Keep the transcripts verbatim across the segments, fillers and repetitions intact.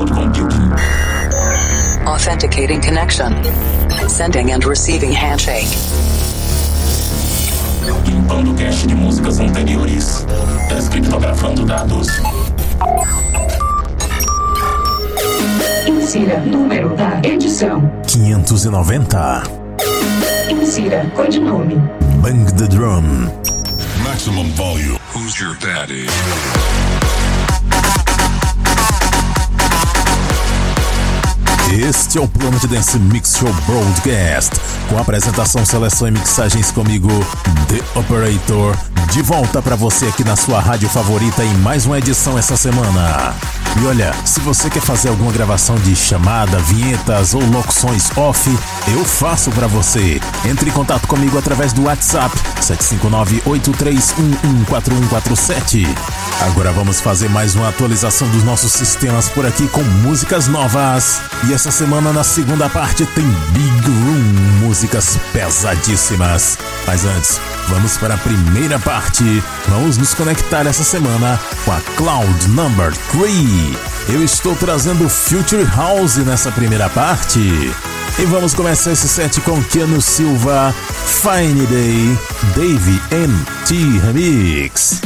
cloud computing. Authenticating connection. Sending and receiving handshake. Limpando cache de músicas anteriores. Descriptografando dados. Insira número da edição quinhentos e noventa. Insira codinome Bang the Drum. Maximum volume. Who's your daddy? Este é o Planet Dance Mix Show Broadcast, com apresentação, seleção e mixagens comigo, The Operator, de volta pra você aqui na sua rádio favorita em mais uma edição essa semana. E olha, se você quer fazer alguma gravação de chamada, vinhetas ou locuções off, eu faço pra você. Entre em contato comigo através do WhatsApp sete cinco nove, oito três um um, quatro um quatro sete. Agora vamos fazer mais uma atualização dos nossos sistemas por aqui com músicas novas. E essa semana na segunda parte tem Big Room, músicas pesadíssimas. Mas antes, vamos para a primeira parte. Vamos nos conectar essa semana com a Cloud Number três. Eu estou trazendo Future House nessa primeira parte. E vamos começar esse set com Keanu Silva, Fine Day, Dave M T Remix.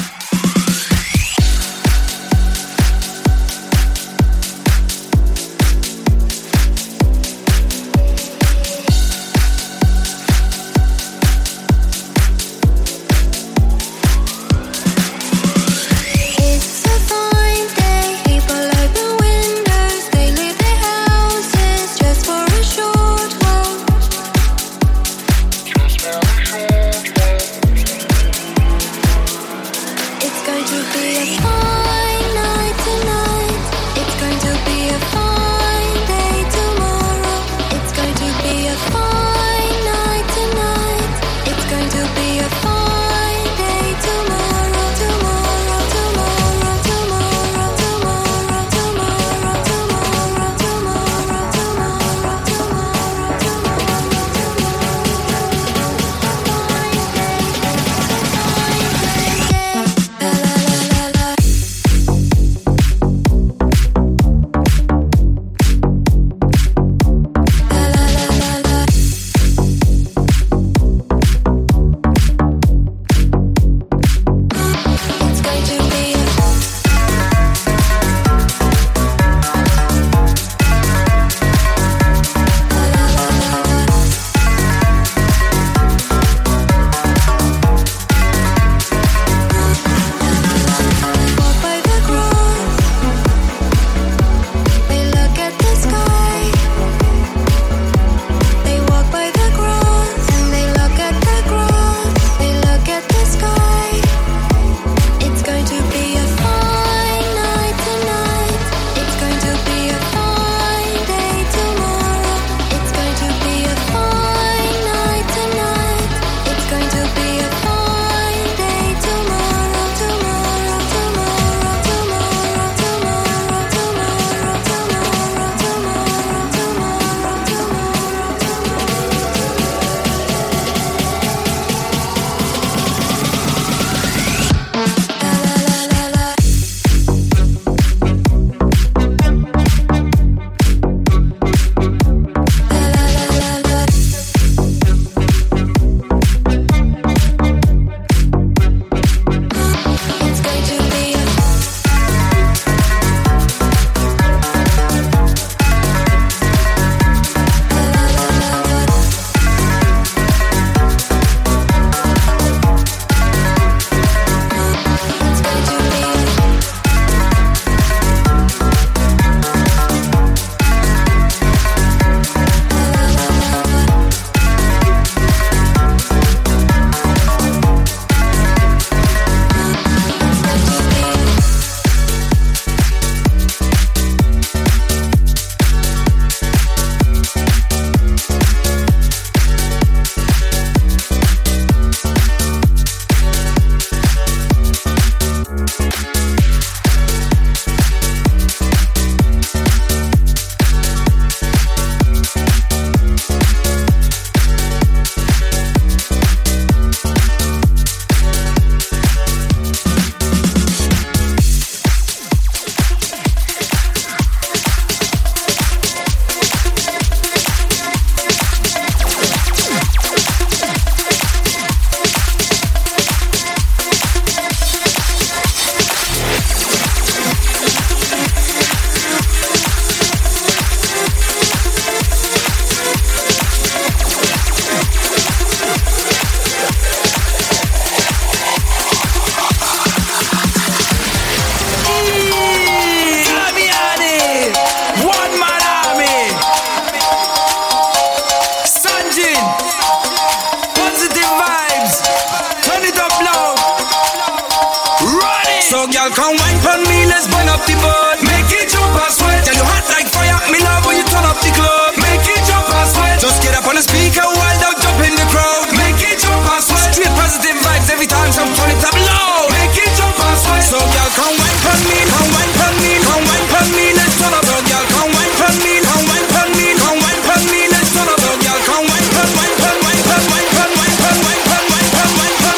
come wine for me, let's burn up the boat. Make it jump and sweat. Tell you hot like fire, me love when you turn up the club. Make it jump and sweat. Just get up on the speaker, wild out, jump in the crowd. Make it jump and sweat. Straight positive vibes every time, some turn it up loud. Make it jump and sweat. So y'all come wine for me, come wine for me, come wine for me, let's turn up, y'all come wine for me, come wine for me, come wine for me, let's turn up, y'all come wine for wine for wine for wine for wine for wine for wine for wine for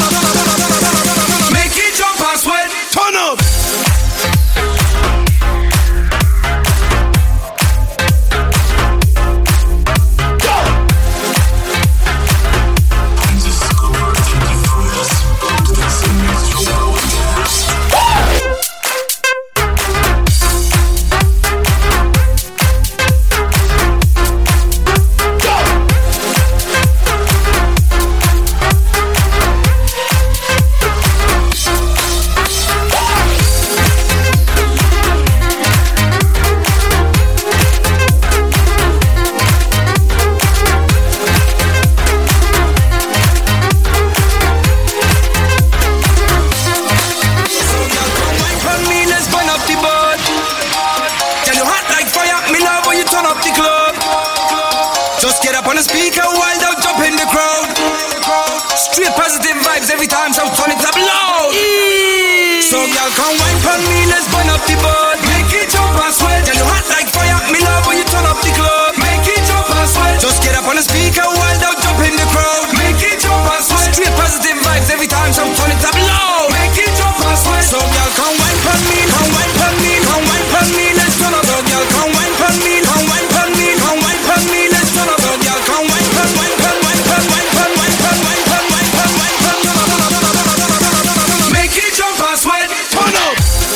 make it jump and sweat, turn up. Every time, so turn it up loud. Eee. So y'all come wine for me, let's burn up the boat. Make it jump and sweat. Tell you hot like fire, me love when you turn up the club. Make it jump and sweat. Just get up on the speaker, wild out, jump in the crowd. Make it jump and sweat. Straight positive vibes every time, so turn it up loud. Make it jump and sweat. So y'all come wine for me, come wine for me, come wine for me, let's turn up, y'all come wine for me, come wine for me, come wine for me, let's turn up, y'all come wine for wine for wine for wine for wine for wine for wine for wine for make it jump and sweat, turn up.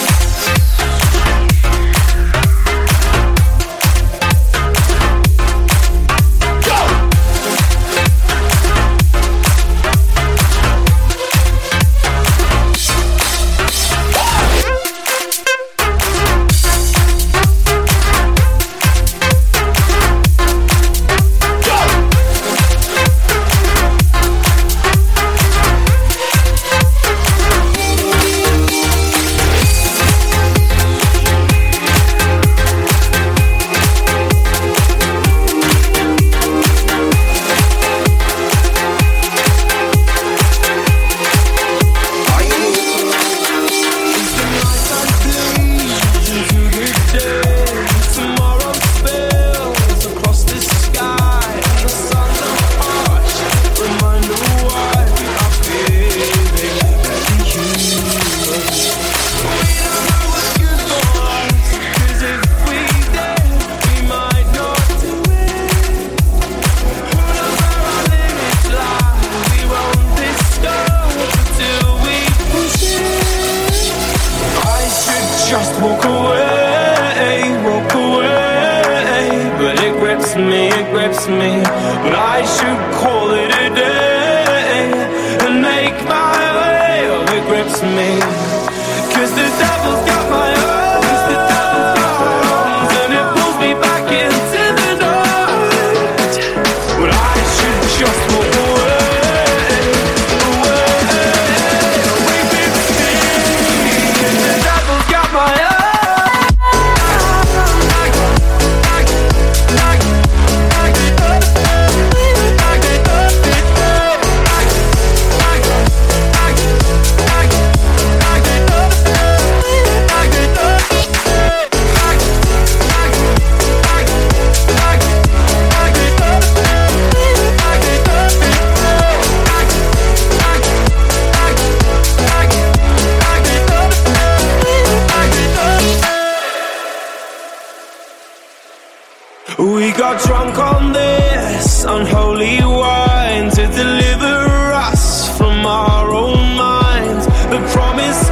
We got drunk on this unholy wine to deliver us from our own minds. The promise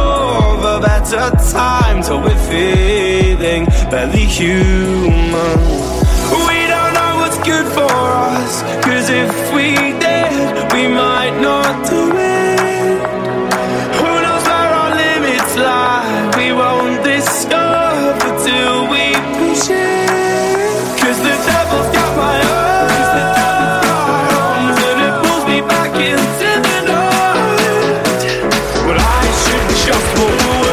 of a better time till we're feeling barely human. We don't know what's good for us, cause if we did, we might not do it. Who knows where our limits lie? We won't discover till we push it. Cause the devil's got my arms and it pulls me back into the night. But I should just walk away.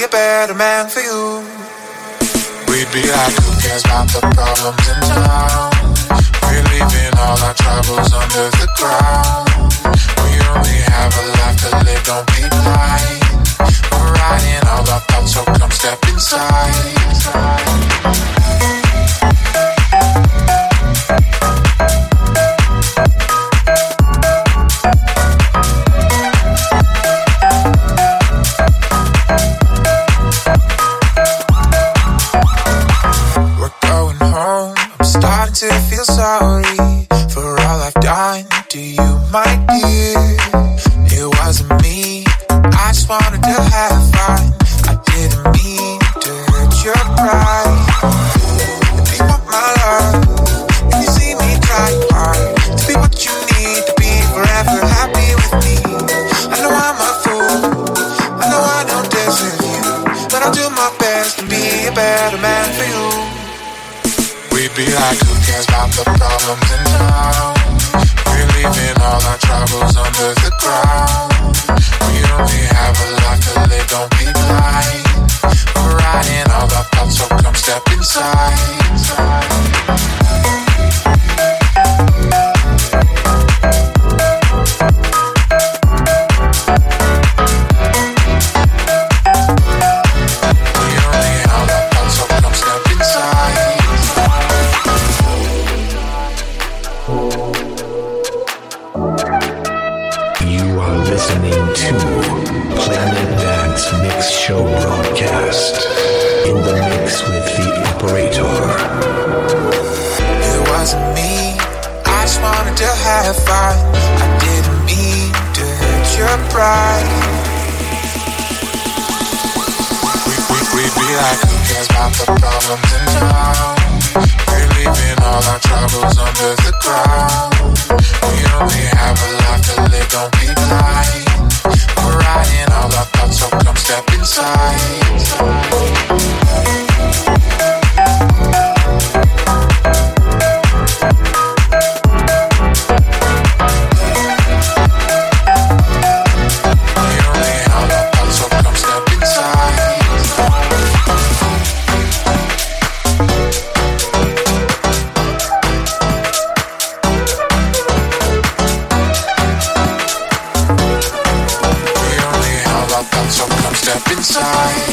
a better man for you. We'd be like, who cares about the problems in town? We're leaving all our troubles under the ground. We only have a life to live, don't be blind. We're riding all our thoughts, so come step inside. To feel sorry for all I've done to you, my dear. It wasn't me, I just wanted to have fun. I didn't mean to hurt your pride. If you want my love, and you see me trying hard to be what you need to be forever happy with me. I know I'm a fool, I know I don't deserve you, but I'll do my best to be a better man for you. We'd be like, who cares about the problems in town? We're leaving all our troubles under the ground. We only have a life to live, don't be blind. We're riding all our thoughts, so come step inside. Listening to Planet Dance Mix Show broadcast. In the mix with the operator. It wasn't me, I just wanted to have fun. I didn't mean to hurt your pride. We, we, we'd be like, who cares about the problems in town? We're leaving all our troubles under the ground. We only have a life to live, don't be blind. We're riding all our thoughts, so come step inside. Step inside.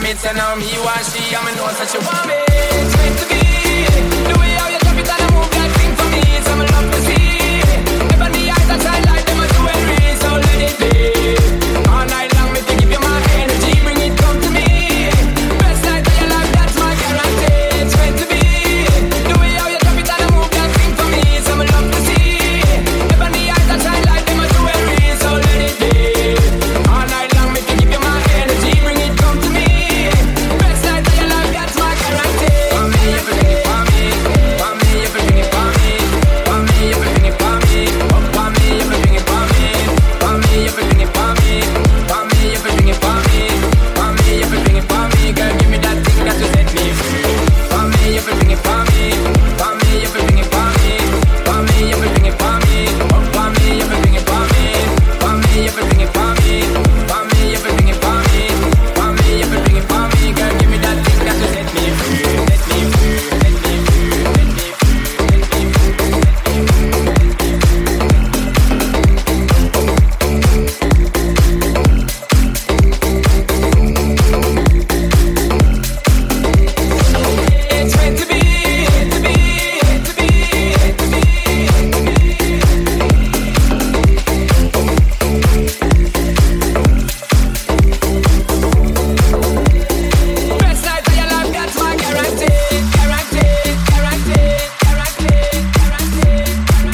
me say now me want she, and me know that she want me. It's meant to be. The way how you drop it and I move that thing for me, it's some love to see. Never the eyes that shine like them a jewelry, so let it be. All night long me to give you my energy, bring it come to me. Best night of your life, that's my guarantee. It's meant to be. The way how you drop it and I move that thing for me, it's some love to see. Never the eyes that shine like them a jewelry, so let it be. All night long me to give you my energy, bring it come to me. Best night of your life, that's my guarantee. For me, everything for me. For me, everything is for me. For me, everything is for me. Oh, for me, everything is for me. For me, everything is for me. For me, everything is for me. For me, everything is for me. Girl, give me that thing that will set me free. For me, everything is for me. For me, everything is for me. For me, everything is for me. Oh, for me, everything is for me. For me, everything is for me. For me, everything is for me. For me, everything is for me. Girl, give me that thing that will set me free. Set me free. Set me free. Set me free. It's meant to be, to be, to be, to be. Best night of your life, that's my guarantee, guarantee, guarantee, guarantee, guarantee,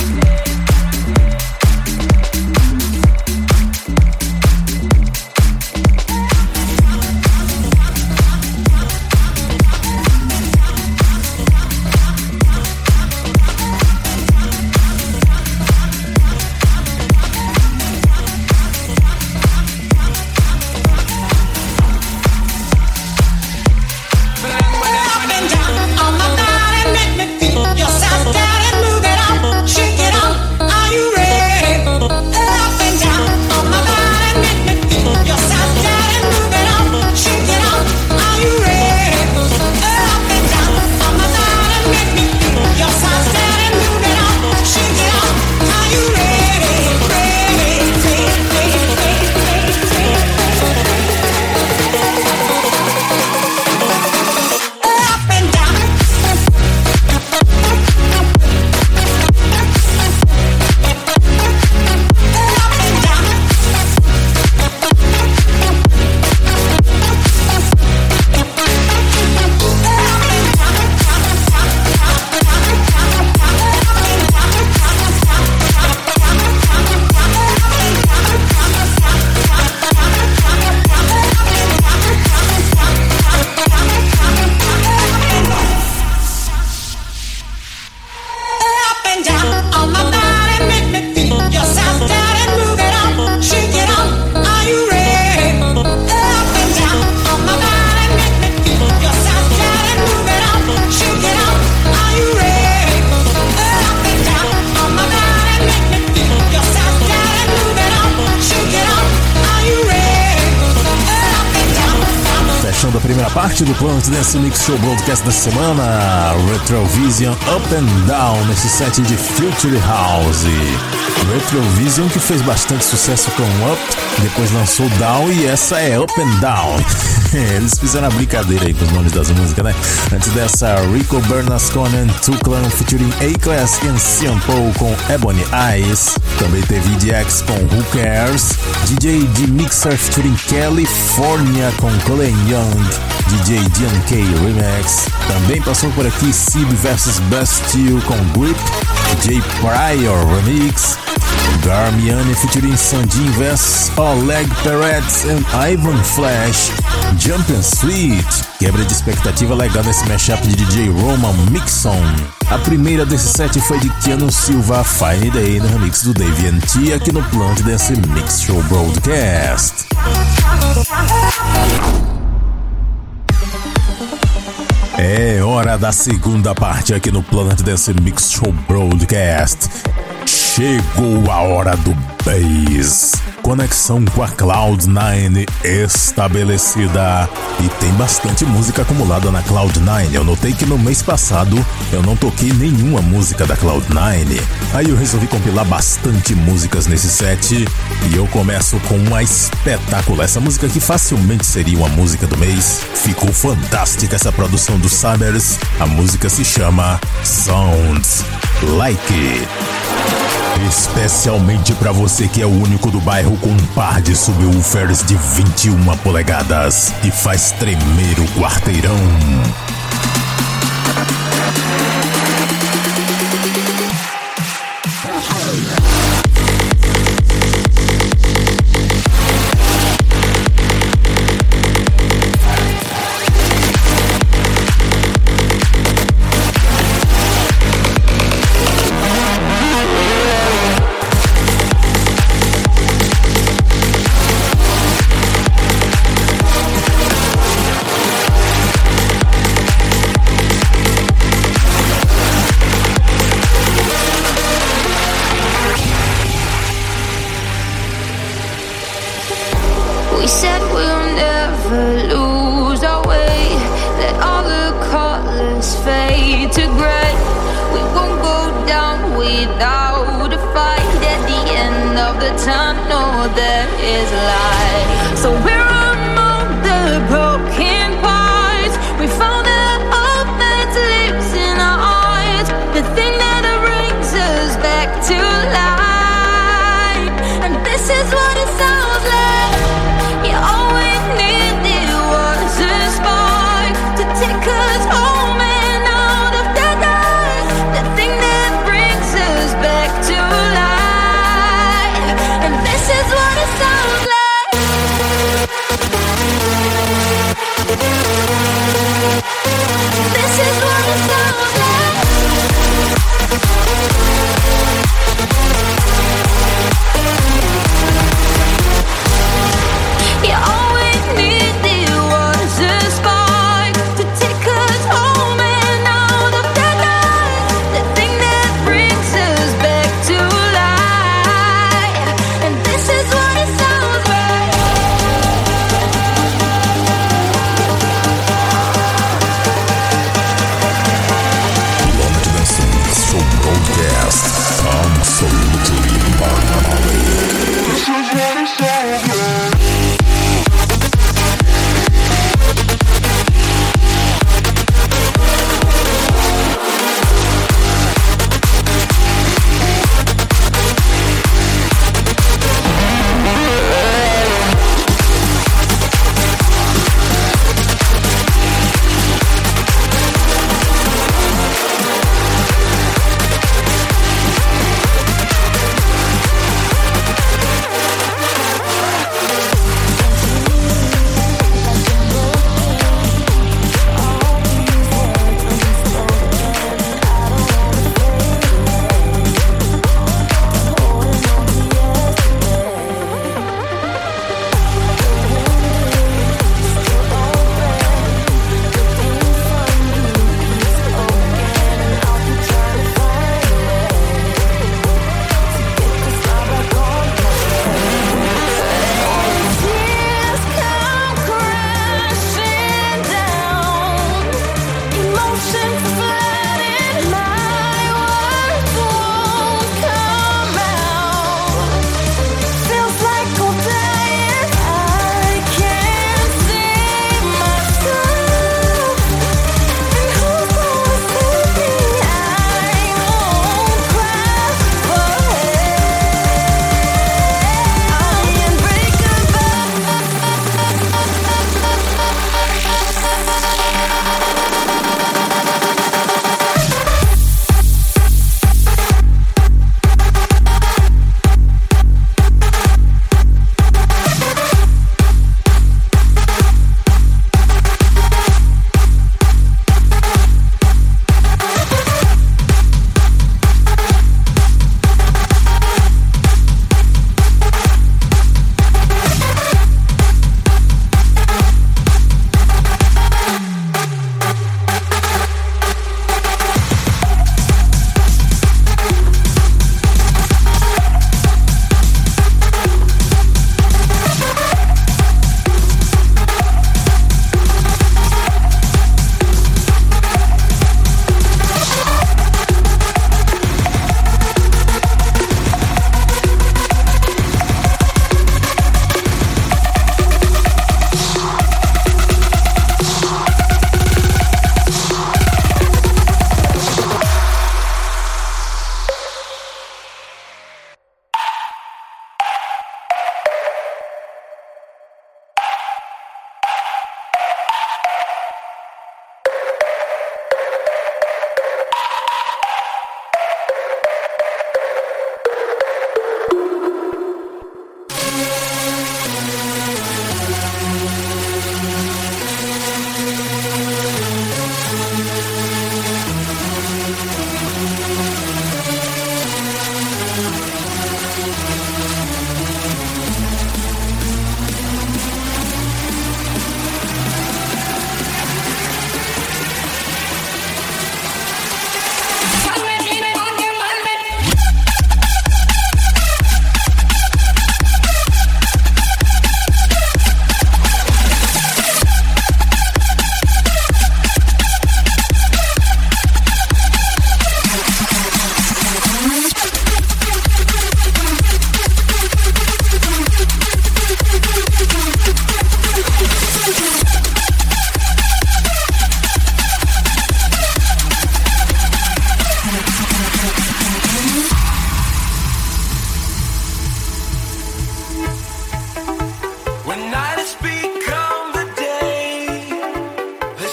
Da primeira parte do Planet Dance Mix Show Broadcast da semana, Retrovision Up and Down, nesse set de Future House. Retrovision que fez bastante sucesso com Up, depois lançou Down e essa é Up and Down. Eles fizeram a brincadeira aí com os nomes das músicas, né? Antes dessa, Rico Bernasconi and Tuclan featuring A-Class e Sean Paul com Ebony Eyes. Também teve E D X com Who Cares, D J D Mixer featuring California com Colin Young, D J D N K Remix. Também passou por aqui Sib versus Bastille com Grip, D J Pryor Remix, Garmiani featuring Sandin vs Oleg Peretz and Ivan Flash, Jump and Sweet. Quebra de expectativa legal nesse mashup de D J Roman Mixon. A primeira desse set foi de Keanu Silva, Fine Day, no remix do Dave N T aqui no Planet Dance Mix Show Broadcast. É hora da segunda parte aqui no Planet Dance Mix Show Broadcast. Chegou a hora do bass. Conexão com a Cloud nine estabelecida. E tem bastante música acumulada na Cloud nine. Eu notei que no mês passado eu não toquei nenhuma música da Cloud nine. Aí eu resolvi compilar bastante músicas nesse set. E eu começo com uma espetácula. Essa música aqui facilmente seria uma música do mês. Ficou fantástica essa produção do Summers. A música se chama Sounds Like. Especialmente pra você que é o único do bairro com um par de subwoofers de vinte e uma polegadas e faz tremer o quarteirão. This is what it sounds like.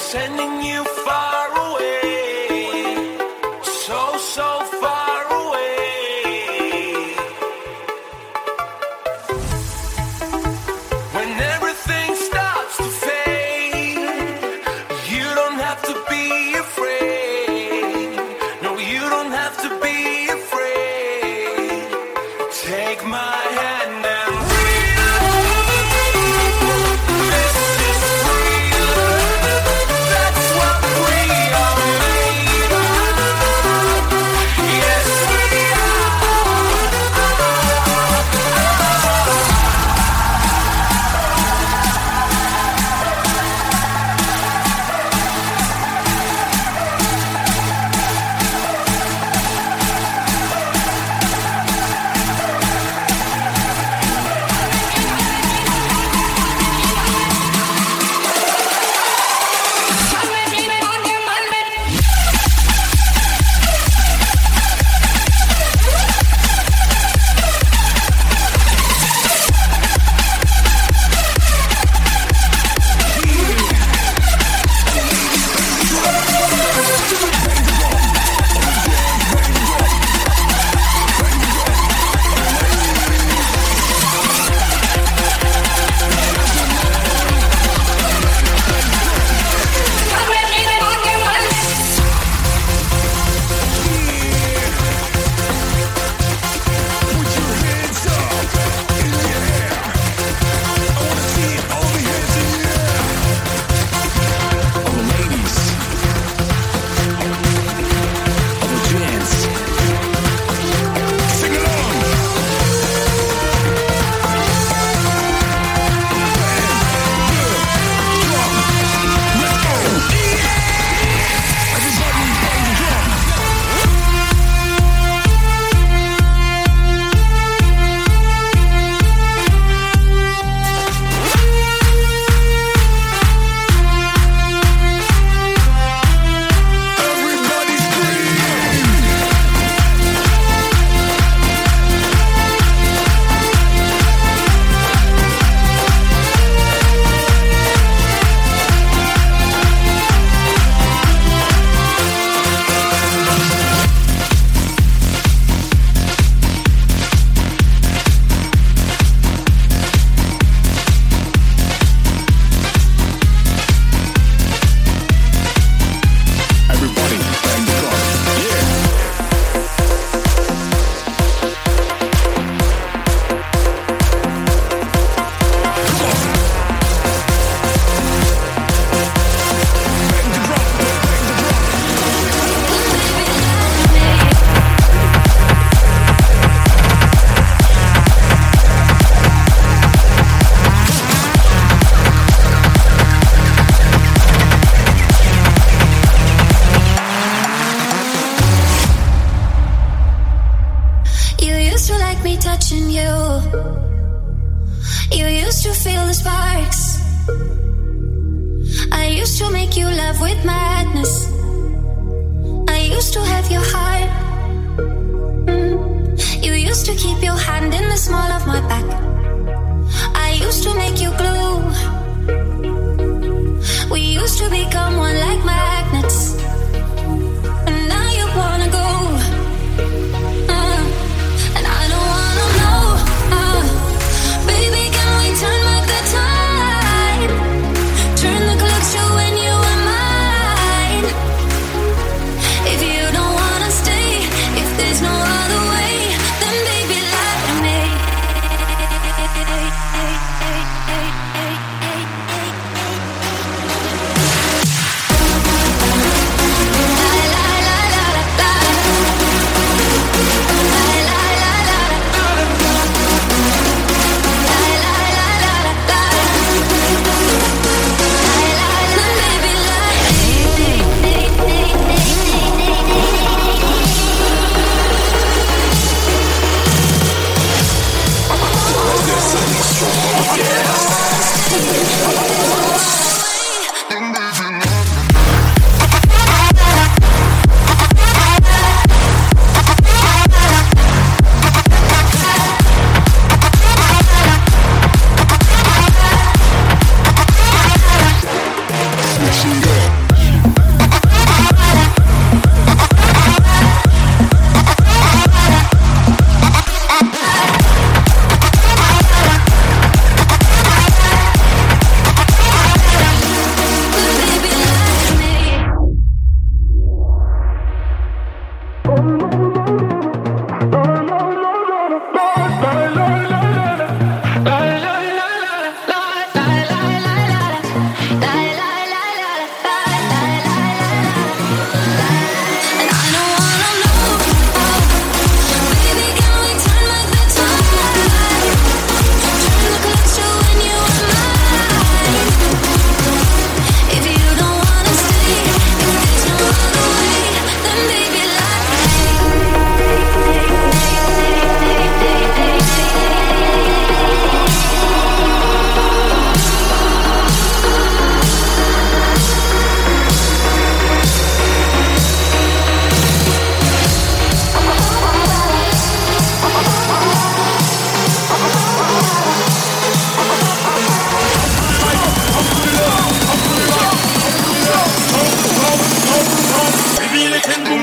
sending you far away, so, so far away. When everything starts to fade, you don't have to be afraid. No, you don't have to be afraid. Take my hand and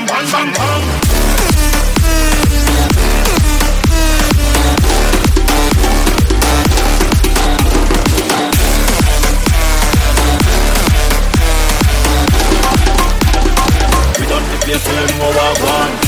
bang bang bang. We done the place till them know what I want.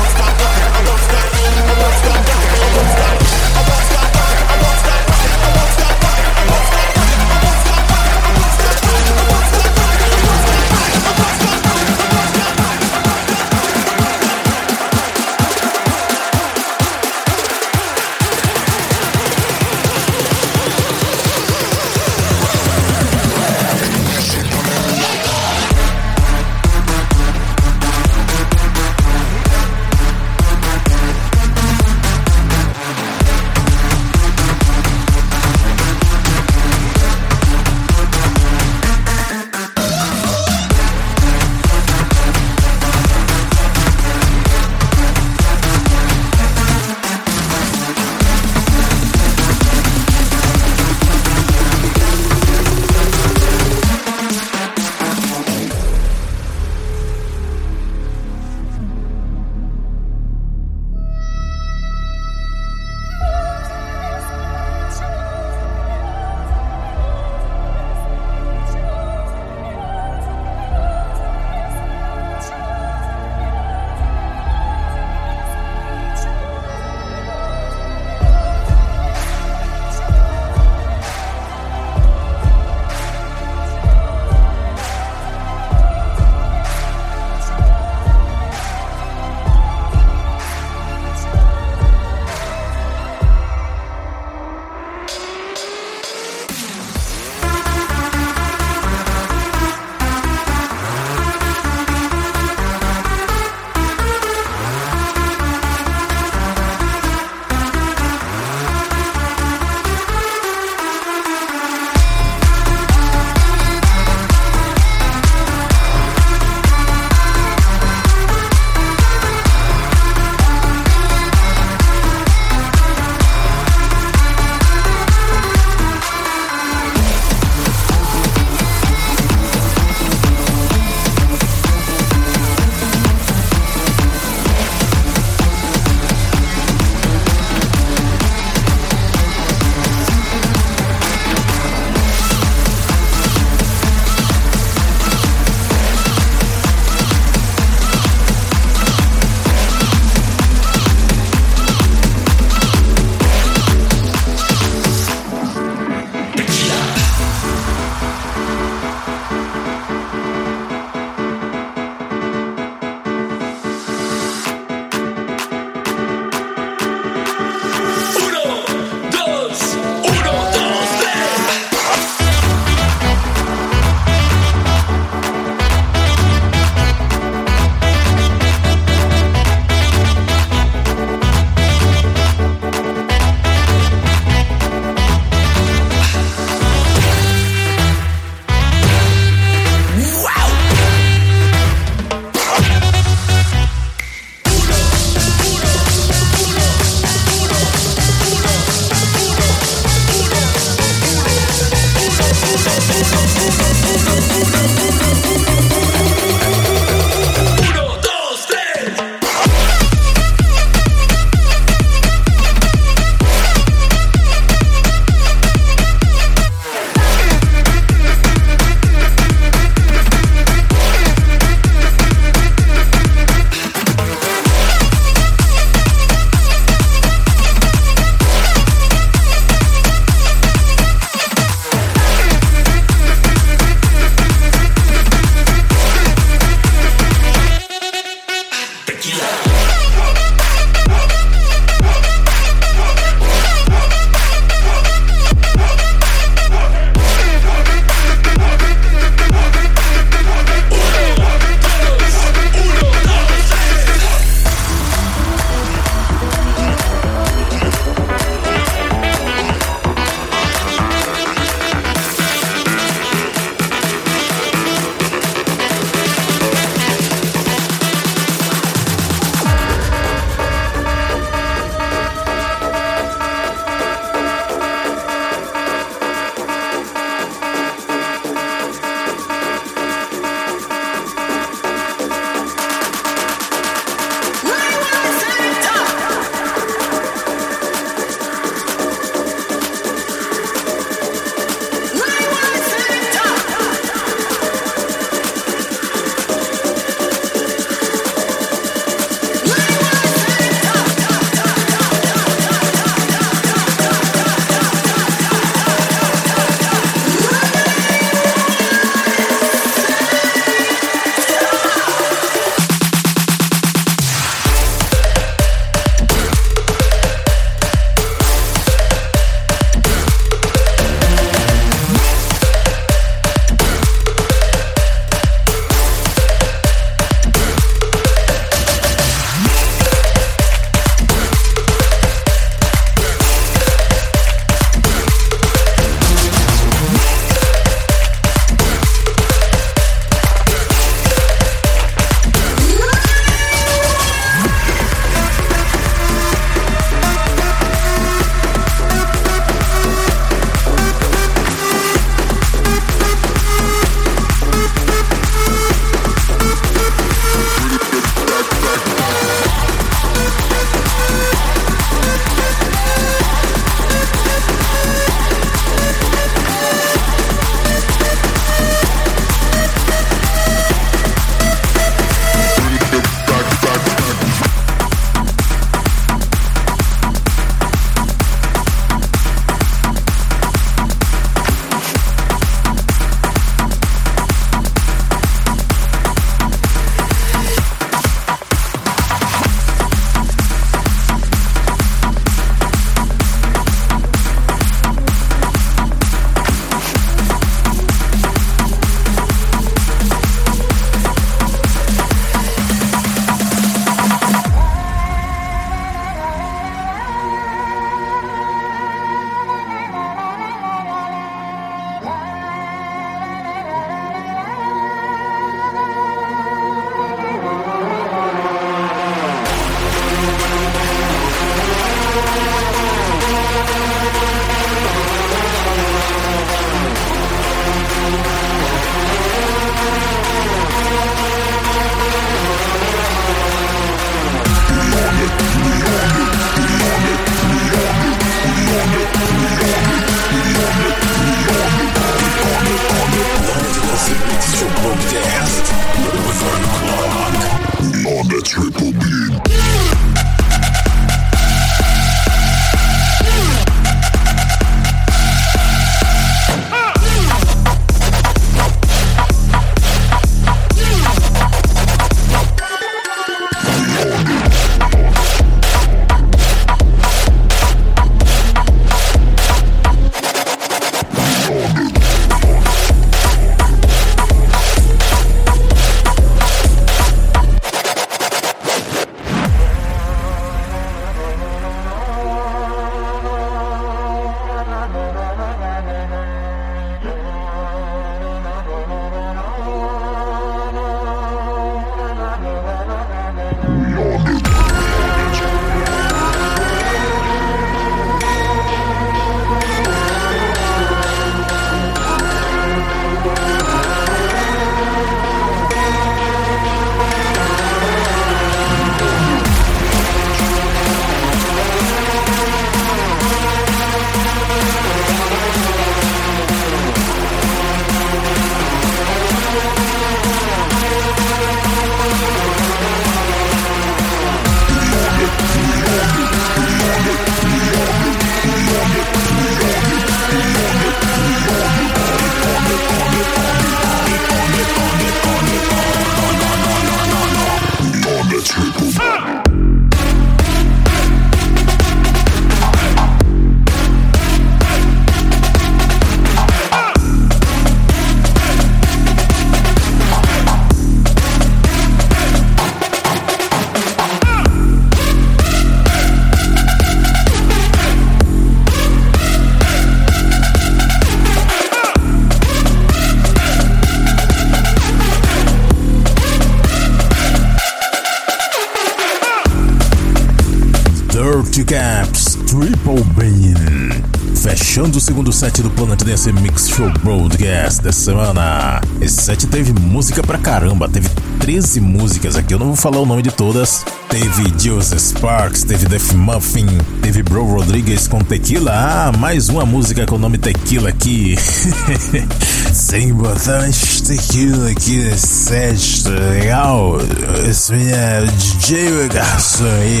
Dirty Caps, Triple Beam. Fechando o segundo set do Planet Dance Mix Show Broadcast dessa semana. Esse set teve música pra caramba, teve treze músicas aqui, eu não vou falar o nome de todas. Teve Joseph Sparks, teve Def Muffin, teve Bro Rodriguez com Tequila. Ah, mais uma música com o nome Tequila aqui. Sem botar mais tequila aqui nesse set, tá legal? Esse é D J Garçom aí.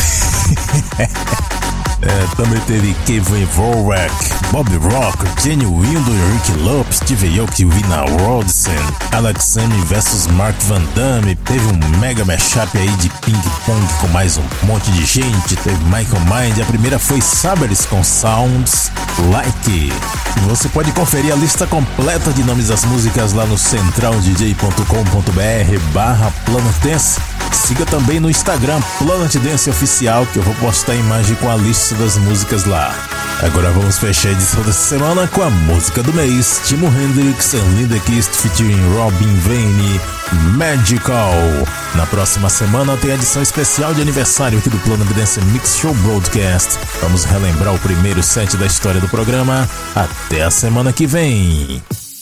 É, também teve Kevin Vorwerk, Bob Rock, Jenny Windo, Rick Lopes, Steve Aoki, Vina Rodson, Alex Sami versus Mark Van Damme. Teve um mega mashup aí de ping pong com mais um monte de gente. Teve Michael Mind. A primeira foi Sabers com Sounds Like. Você pode conferir a lista completa de nomes das músicas lá no central d j ponto com ponto b r barra Planet Dance. Siga também no Instagram Planet Dance Oficial, que eu vou postar a imagem com a lista das músicas lá. Agora vamos fechar a edição dessa semana com a música do mês, Timo Hendrix and Linda Kist featuring Robin Vane, Magical. Na próxima semana tem a edição especial de aniversário aqui do Planet Dance Mix Show Broadcast. Vamos relembrar o primeiro set da história do programa. Até a semana que vem.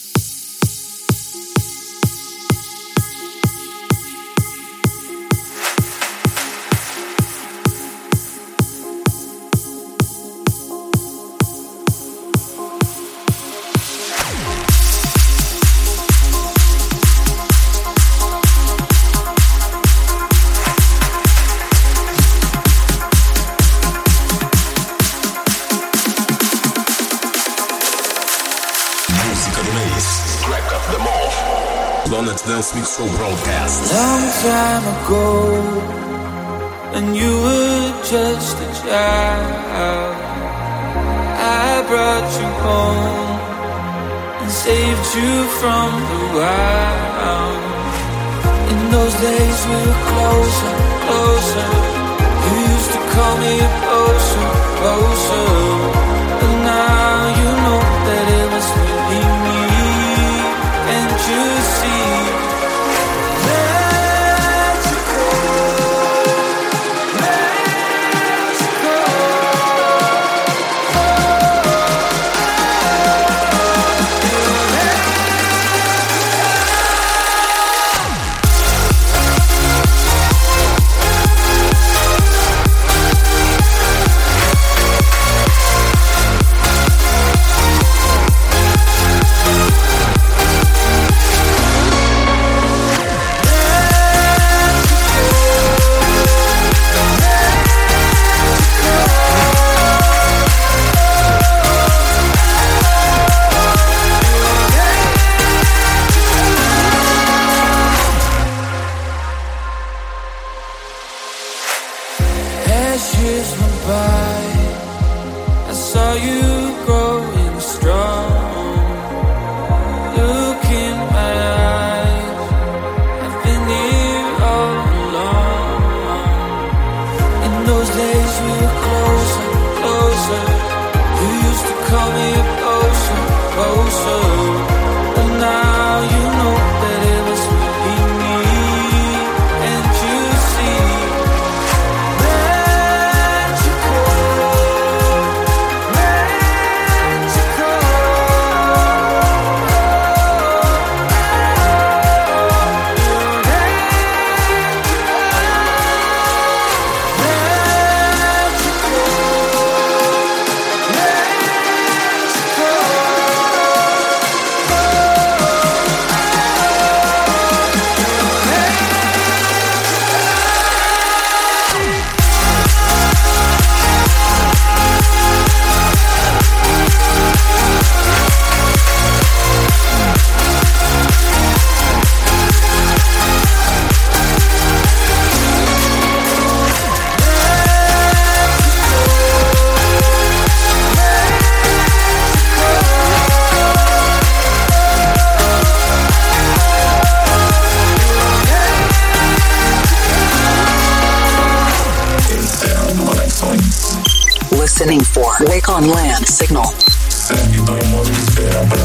Planet Dance Mix Show Broadcast. Long time ago, when you were just a child, I brought you home and saved you from the wild. In those days we were closer, closer. You used to call me closer, closer. But now you know that it was really me. Can't you see? Magical. listening for Wake on Land Signal. Segue do Imóvel